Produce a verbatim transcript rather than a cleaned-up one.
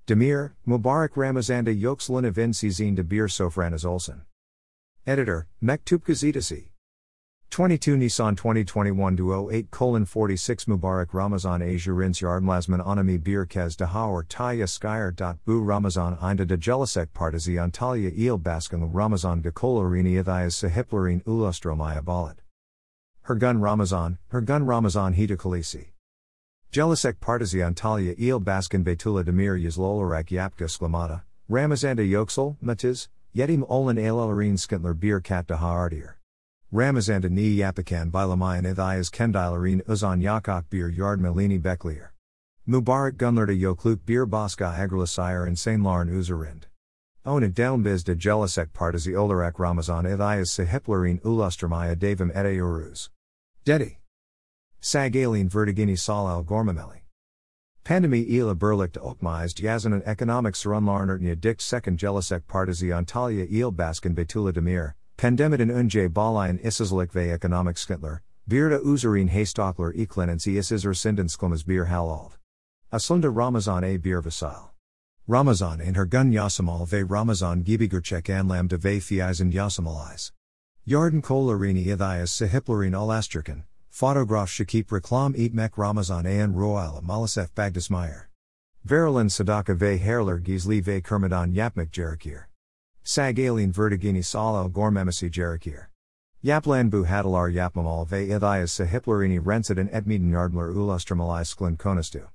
Demir, Mubarak Ramazanda Yoksulun Evin Sizin de Bir Sofranas Olsen. Editor, Mektup Gazetesi. twenty-two Nisan twenty twenty-one oh eight forty-six Mubarak Ramazan Ajurins Yardmlasman Anami Bir Kez Dahawar Taya Skyer. Bu Ramazan Inda de Jelisek Partizi Antalya Il Baskan Ramazan de Kolarini Ithias Sahiplarine Ulustromaya Balat. Hergun Ramazan, Hergun Ramazan Hita Kalisi. Jelisek Partizi Antalya Il Baskan Betula Demir Yazlolarak Yapka Sklamata, Ramazanda Yoksel, Matiz, Yedim Olan Alarine Skintler Bir Kat Dahaardir. Ramazanda ni Yapakan Bilamayan Ithias Kendilarine Uzan Yakok Bir Yard Melini Beklier. Mubarak Gunler de Yokluk Bir Baska Agralisire and Sain Larn Uzarind. Ona Delmbiz de Jelisek Partizi Olarak Ramazan Ithias Sahiplarine Ulustromaya Davim Ete Uruz. Dedi. Sagaline Vertigini Salal Gormameli. Pandemi ila Berlicht Okmized Yazanan Economic Sarunlarnertnia Dikt Second Jelisek Partizi Antalya Il Baskan Betula Demir, Pandemidin Unje Balayan Isizlik Ve Economic Skintler, Birda Uzarine Haystockler Eklenency Isizar Sindensklumas Bir Halald. Aslunda Ramazan A Bir Vasil. Ramazan in her gun Yasamal Ve Ramazan Gibigurchek Anlam de Ve Thiazen Yasamalais. Yarden Kolarini Ithias Sahiplarine Alasterkan. Photograph Shakip Reklam Eat Mek Ramazan An Royal Malasef Bagdasmeyer. Verilin Sadaka Ve Herler Gizli Ve Kermadan Yapmek Jerakir. Sagaline Vertigini Salal Gormemisi Jerakir. Yaplanbu Hadalar Yapmamal Ve Ithias Sahiplerini Rensidan Edmeden Yardler Ulustramalai Sklin Konastu.